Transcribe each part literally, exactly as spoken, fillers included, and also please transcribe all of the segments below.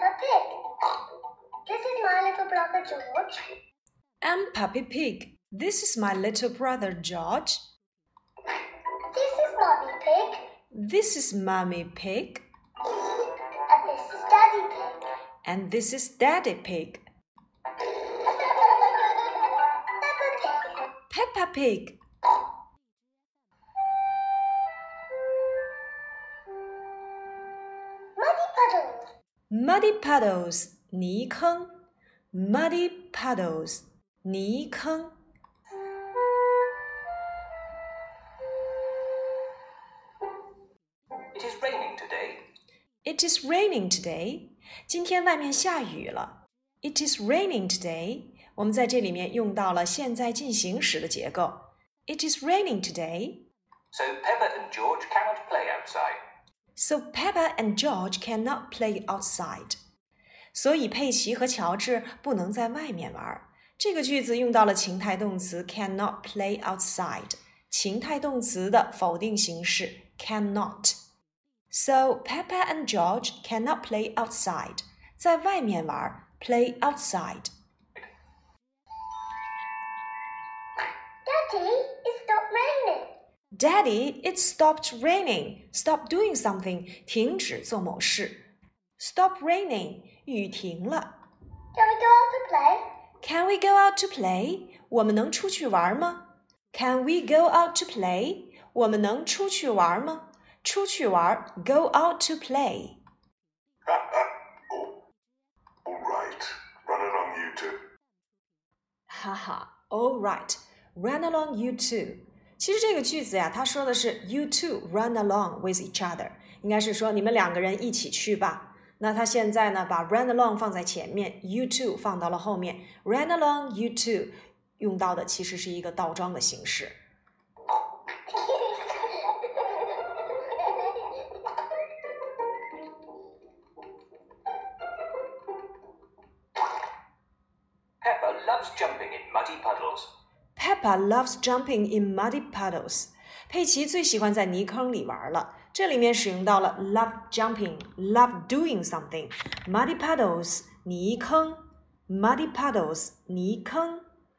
Peppa Pig. This is my little brother George. I'm Puppy Pig. This is my little brother George. This is Mummy Pig. This is Mummy Pig. And this is Daddy Pig. And this is Daddy Pig. Peppa Pig. Peppa Pig. Muddy puddles. Muddy puddles, 泥坑 Muddy puddles, 泥坑 It is raining today. It is raining today. 今天外面下雨了。It is raining today. 我们在这里面用到了现在进行时的结构。It is raining today. So Peppa and George cannot play outside. So Peppa and George cannot play outside. 所以佩奇和乔治不能在外面玩。这个句子用到了情态动词 cannot play outside. 情态动词的否定形式 cannot.So Peppa and George cannot play outside. 在外面玩 play outside. Daddy, it stopped raining. Daddy, it stopped raining. Stop doing something. 停止做某事。Stop raining. 雨停了。 Can we go out to play? Can we go out to play? 我们能出去玩吗？ Can we go out to play? 我们能出去玩吗？出去玩 go out to play. oh, all right. Run along, you two. 哈哈 all right. Run along, you two. 其实这个句子呀，它说的是 you two run along with each other. 应该是说你们两个人一起去吧。那他现在呢，把 run along 放在前面 you two 放到了后面 run along, you two 用到的其实是一个倒装的形式。 Peppa loves jumping in muddy puddles. Peppa loves jumping in muddy puddles. 佩奇最喜欢在泥坑里玩了。这里面使用到了 love jumping, love doing something. Muddy puddles, 泥坑 Muddy puddles, 泥坑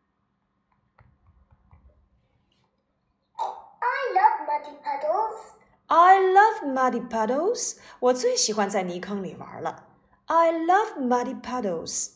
I love muddy puddles. I love muddy puddles. 我最喜欢在泥坑里玩了。I love muddy puddles.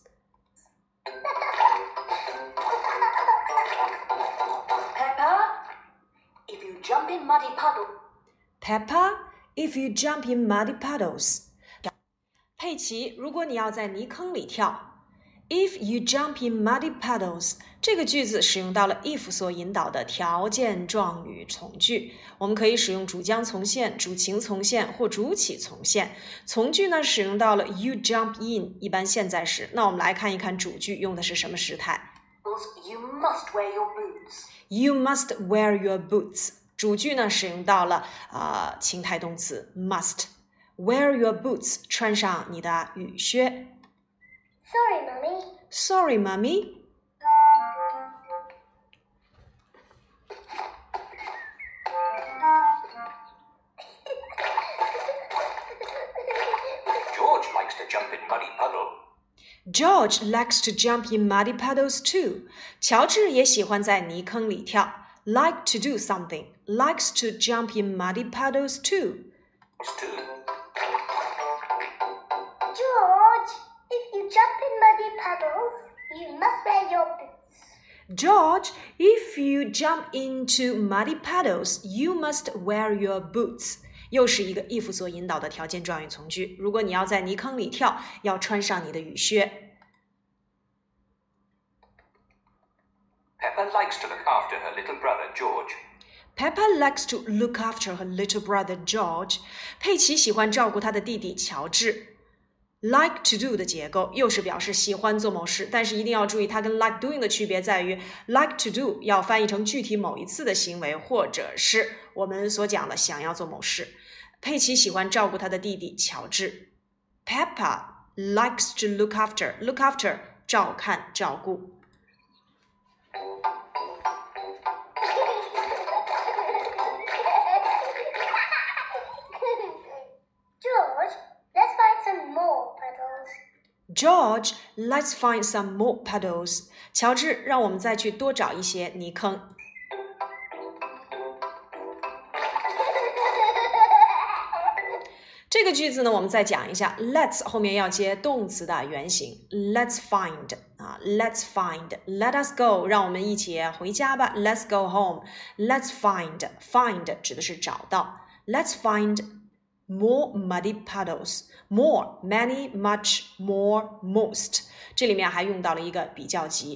Peppa, if you jump in muddy puddle. Peppa, if you jump in muddy puddles. 佩奇，如果你要在泥坑里跳 If you jump in muddy puddles 这个句子使用到了 if 所引导的条件状语从句，我们可以使用主将从现、主情从现或主体从现。从句呢使用到了 you jump in 一般现在时。那我们来看一看主句用的是什么时态。 You must wear your boots. You must wear your boots 主句呢使用到了呃情态动词 must wear your boots 穿上你的雨靴。 Sorry, Mummy. Sorry, Mummy. George likes to jump in muddy puddle. George likes to jump in muddy puddles too. 乔治也喜欢在泥坑里跳。Like to do something. Likes to jump in muddy puddles too. Too. George, if you jump in muddy puddles, you must wear your boots. George, if you jump into muddy puddles, you must wear your boots. 又是一个 if 所引导的条件状语从句。如果你要在泥坑里跳，要穿上你的雨靴。 Peppa likes to look after her little brother George. Peppa likes to look after her little brother George. 佩奇喜欢照顾她的弟弟乔治。Like to do 的结构又是表示喜欢做某事，但是一定要注意它跟 like doing 的区别在于 like to do 要翻译成具体某一次的行为，或者是我们所讲的想要做某事。佩奇喜欢照顾他的弟弟乔治。Peppa likes to look after look after 照看照顾。 George, let's find some more puddles. George, let's find some more puddles. 乔治，让我们再去多找一些泥坑。这个句子呢，我们再讲一下 let's 后面要接动词的原形 let's find 啊 let's find let us go 让我们一起回家吧 let's go home let's find find 指的是找到 let's find more muddy puddles more many much more most 这里面还用到了一个比较级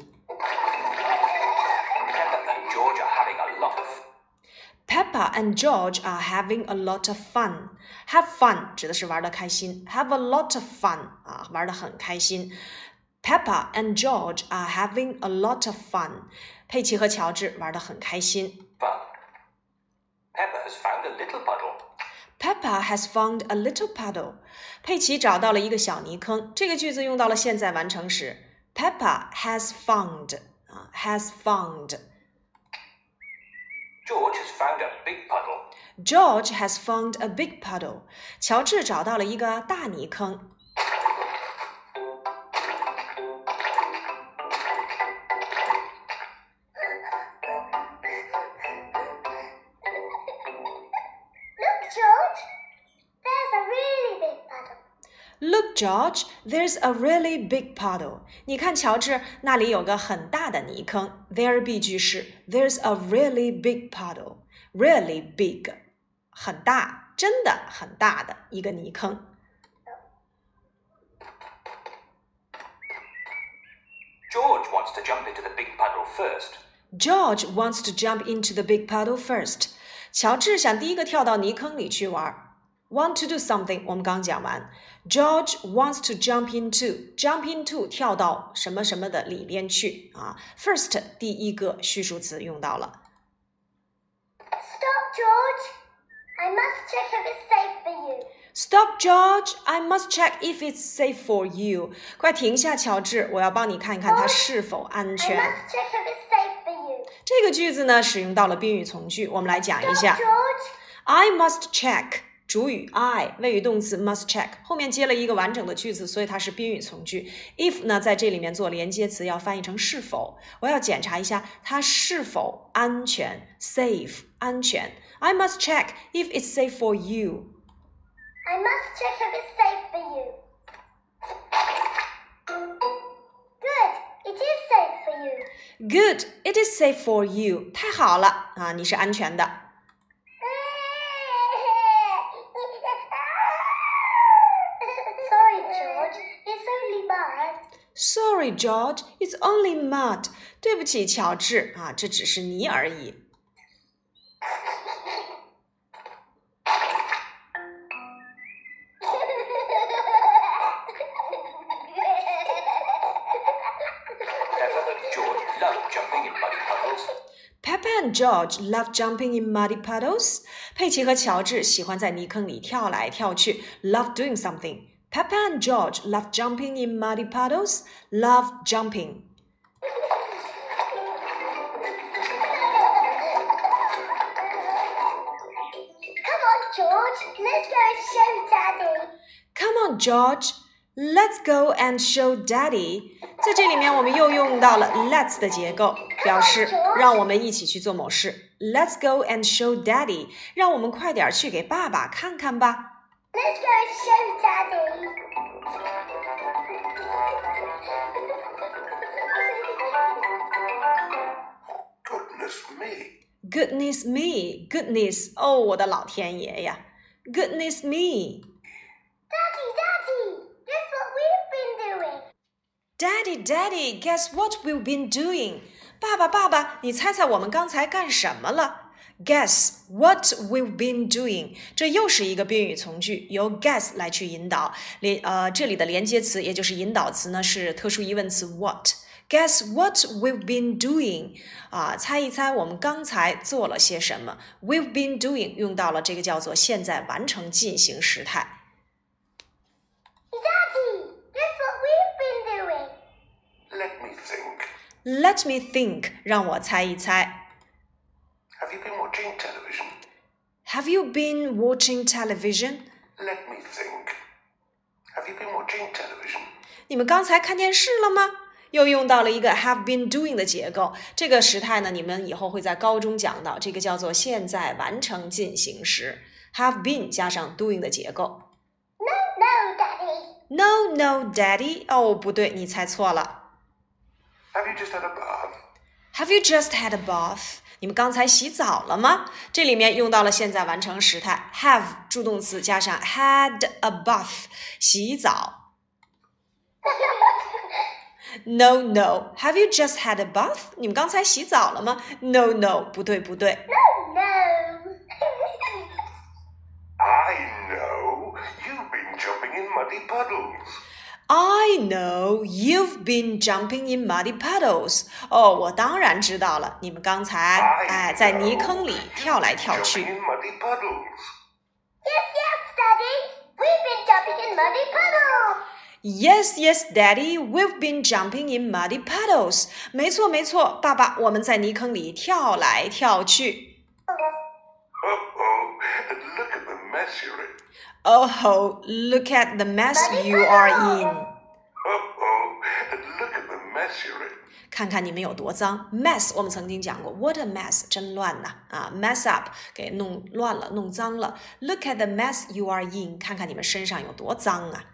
Peppa and George are having Peppa and George are having a lot of a lot of fun. Have fun 指的是玩得开心 Have a lot of fun 啊，玩得很开心 Peppa and George are having a lot of fun. 佩奇和乔治玩得很开心 fun. Peppa has found a little puddle. Peppa has found a little puddle. 佩奇找到了一个小泥坑。这个句子用到了现在完成时 Peppa has found 啊 has found George has found a big puddle. George has found a big puddle. 乔治找到了一个大泥坑。Look, George, there's a really big puddle. 你看，乔治，那里有个很大的泥坑。There 必句式 There's a really big puddle. Really big. 很大，真的很大的一个泥坑。 George wants to jump into the big puddle first. George wants to jump into the big puddle first. 乔治想第一个跳到泥坑里去玩。Want to do something 我们刚讲完 George wants to jump into jump into 跳到什么什么的里边去啊 First 第一个叙述词用到了 Stop, George. I must check if it's safe for you. Stop, George. I must check if it's safe for you. 快停下，乔治，我要帮你看一看它是否安全。 I must check if it's safe for you. 这个句子呢，使用到了宾语从句，我们来讲一 Stop, 下。 George. I must check 主语 I 谓语动词 must check 后面接了一个完整的句子，所以它是宾语从句。if 呢，在这里面做连接词要翻译成是否，我要检查一下它是否安全 safe 安全。I must check if it's safe for you. I must check if it's safe for you. Good. It is safe for you. Good, it is safe for you. 太好了啊，你是安全的。 Sorry, George. It's only mud. Sorry, George, it's only mud. 对不起，乔治啊，这只是泥而已。Peppa and George love jumping in muddy puddles. 佩奇和乔治喜欢在泥坑里跳来跳去 love doing something. Peppa and George love jumping in muddy puddles. Love jumping. Come on, George. Let's go and show Daddy. Come on, George. Let's go and show Daddy. 在这里面我们又用到了 let's 的结构，表示让我们一起去做某事。Let's go and show Daddy. 让我们快点去给爸爸看看吧。 Let's go and show Daddy. Goodness me. Goodness me, goodness, 哦，我的老天爷呀 ！Goodness me, Daddy, Daddy. Guess what we've been doing? Daddy, Daddy, guess what we've been doing? 爸爸，爸爸，你猜猜我们刚才干什么了 ？Guess what we've been doing？ 这又是一个宾语从句，由 guess 来去引导。连呃，这里的连接词也就是引导词呢是特殊疑问词 what。Guess what we've been doing？ 啊，猜一猜我们刚才做了些什么 ？We've been doing 用到了这个叫做现在完成进行时态。 Daddy, guess what we've been doing? Let me think. Let me think， 让我猜一猜。 Have you been watching television? Have you been watching television? Let me think. Have you been watching television? 你们刚才看电视了吗？又用到了一个 have been doing 的结构，这个时态呢，你们以后会在高中讲到，这个叫做现在完成进行时 have been 加上 doing 的结构。 No, Daddy. No, no, Daddy. 哦，不对，你猜错了。 Have you just had a bath? Have you just had a bath? 你们刚才洗澡了吗？这里面用到了现在完成时态 have 助动词加上 had a bath 洗澡。No, no. Have you just had a bath? 你们刚才洗澡了吗？ No, no. 不对，不对。 No, no. I know. You've been jumping in muddy puddles. I know you've been jumping in muddy puddles. 哦，我当然知道了，你们刚才 I 哎在 know 泥坑里跳来跳 Jumping 去。 in muddy puddles. Yes, yes, Daddy. We've been jumping in muddy puddles. Yes, yes, Daddy, we've been jumping in muddy puddles. 没错，没错，爸爸，我们在泥坑里跳来跳去。 Uh-oh. Look at the mess you're in. Oh, look at the mess you are in. Uh-oh. Look at the mess you're in. 看看你们有多脏 mess 我们曾经讲过 what a mess 真乱呐啊 mess up 给弄乱了弄脏了 look at the mess you are in 看看你们身上有多脏啊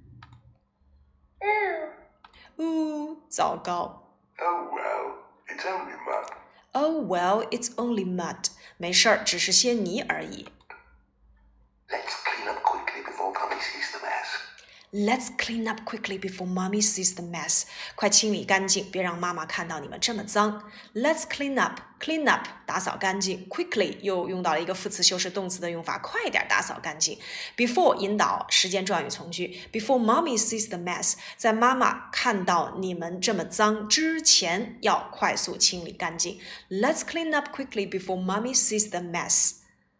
Ooh. 呜糟糕 Oh, well. It's only mud. Oh well it's only mud 没事儿只是些泥而已 Let's clean up quickly before Mummy sees the mess. Let's clean up quickly before mommy sees the mess. 快清理干净，别让妈妈看到你们这么脏。Let's clean up, clean up 打扫干净。Quickly 又用到了一个副词修饰动词的用法，快点打扫干净。Before 引导时间状语从句。Before mommy sees the mess， 在妈妈看到你们这么脏之前，要快速清理干净。Let's clean up quickly before mommy sees the mess.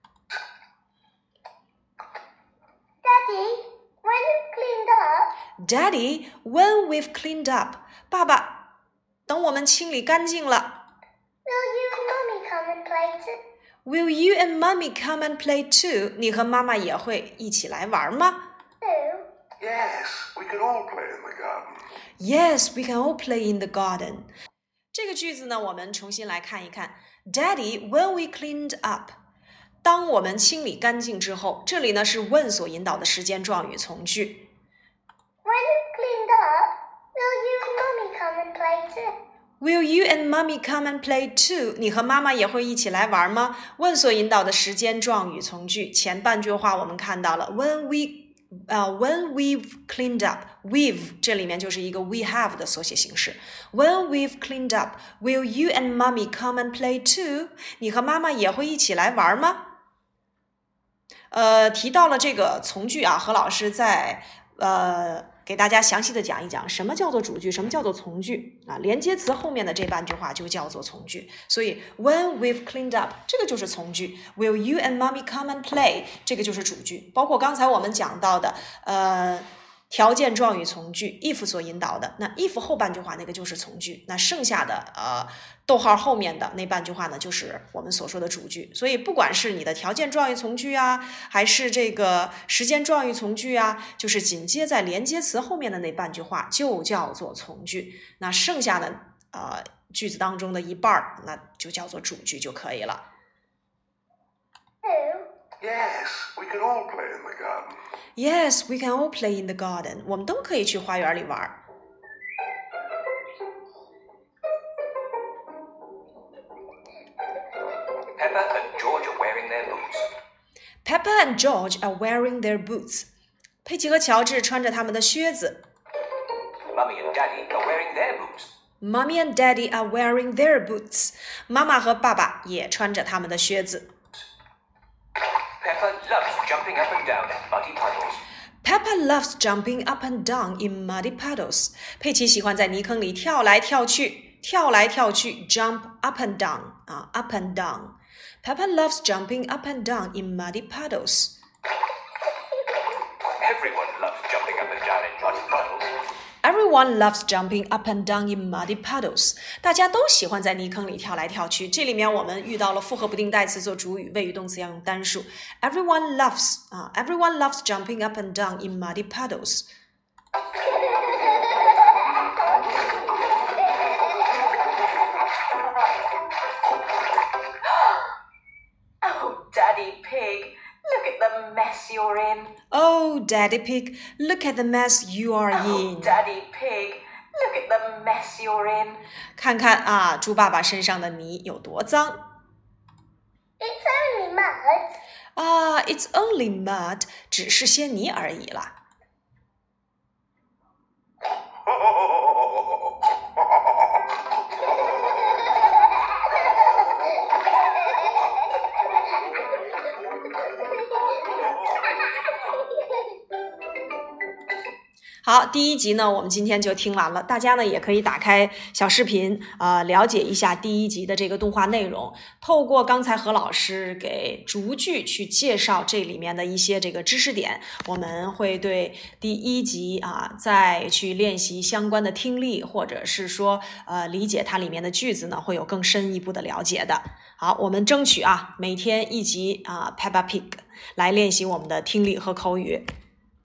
Daddy, when you've cleaned up, Daddy, when we've cleaned up， 爸爸，等我们清理干净了。 will you and Mummy come and play too? Will you and mommy come and play too? 你和妈妈也会一起来玩吗 Who? Yes, we can all play in the garden. Yes, we can all play in the garden. 这个句子呢，我们重新来看一看。Daddy, when we cleaned up， 当我们清理干净之后，这里呢是 when 所引导的时间状语从句。 When you've cleaned up, will you and Mummy come and play too? Will you and mommy come and play too? 你和妈妈也会一起来玩吗？问所引导的时间状语从句前半句话我们看到了 when we 呃、uh, when we've cleaned up we've 这里面就是一个 we have 的缩写形式 when we've cleaned up will you and mommy come and play too? 你和妈妈也会一起来玩吗？呃，提到了这个从句啊，何老师在呃给大家详细的讲一讲什么叫做主句，什么叫做从句啊？连接词后面的这半句话就叫做从句。所以 when we've cleaned up 这个就是从句 ，Will you and mommy come and play 这个就是主句。包括刚才我们讲到的呃条件状语从句 if 所引导的，那 if 后半句话那个就是从句，那剩下的呃逗号后面的那半句话呢，就是我们所说的主句。所以不管是你的条件状语从句啊，还是这个时间状语从句啊，就是紧接在连接词后面的那半句话就叫做从句。那剩下的呃句子当中的一半那就叫做主句就可以了。 Who? Yes, we can all play in the garden. Yes, we can all play in the garden. 我们都可以去花园里玩。 Peppa and George are wearing their boots. Peppa and George are wearing their boots. 佩奇和乔治穿着他们的靴子。 Mummy and Daddy are wearing their boots. Mommy and Daddy are wearing their boots. 妈妈和爸爸也穿着他们的靴子。 Peppa loves jumping up and down in muddy puddles. Peppa loves jumping up and down in muddy puddles. 佩奇喜欢在泥坑里跳来跳去，跳来跳去 ，jump up and down 啊 ，up and down. Peppa loves jumping up and down in muddy puddles. Everyone loves jumping up and down in muddy puddles. Everyone loves jumping up and down in muddy puddles. 大家都喜欢在泥坑里跳来跳去。这里面我们遇到了复合不定代词做主语，谓语动词要用单数。Everyone loves 啊 ，Everyone loves jumping up and down in muddy puddles. mess you're in. Oh, Daddy Pig, look at the mess you are in. Oh, Daddy Pig, look at the mess you're in. 看看啊，猪爸爸身上的泥有多脏。 It's only mud. 啊 ，It's only mud， 只是些泥而已啦。好，第一集呢，我们今天就听完了。大家呢也可以打开小视频，呃，了解一下第一集的这个动画内容。透过刚才何老师给逐句去介绍这里面的一些这个知识点，我们会对第一集啊再去练习相关的听力，或者是说呃理解它里面的句子呢，会有更深一步的了解的。好，我们争取啊每天一集啊 Peppa Pig 来练习我们的听力和口语。